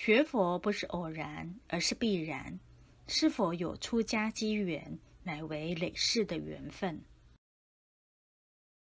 学佛不是偶然，而是必然。是否有出家机缘，乃为累世的缘分。